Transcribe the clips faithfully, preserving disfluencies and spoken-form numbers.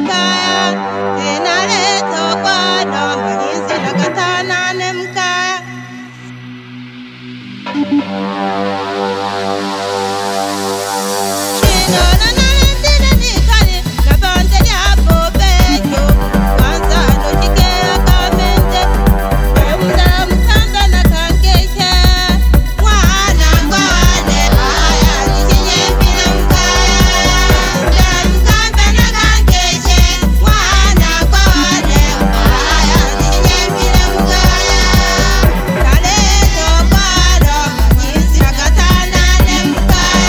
mkaya inaleta bwana manyinzi na katana ne mkaya Shino na nalendile nikali na bande lyapo bejo kwanza nojikea kamente emda mkanda na kankeshe mwana ngwane aya nichinyembile mkaya mda mkanda na kankeshe mwana ngwane aya nichinyembile mkaya kaleto bwalo manyinzi na katana ne mkaya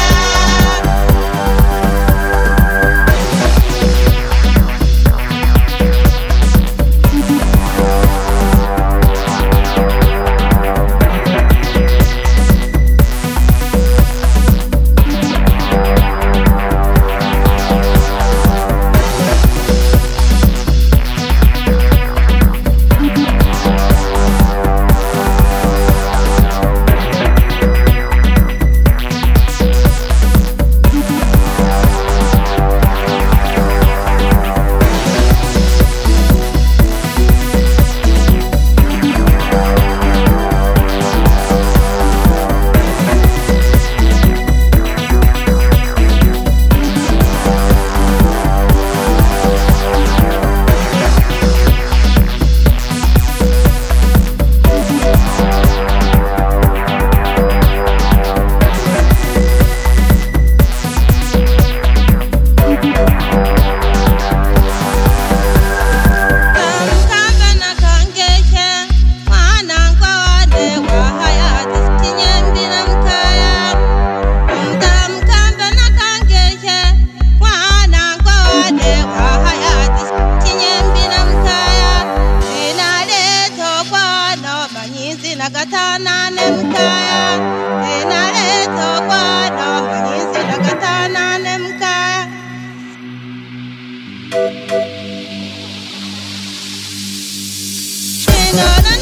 Mkambe na kangeshe mwana ngwane wa hayati chinyembile mkaya mda mkambe na kangeshe mwana ngwane wa hayati chinyembile mkaya inaleta bwana manyinzi na katana ne mkaya inaleta bwana manyinzi na katana ne mkaya Shino na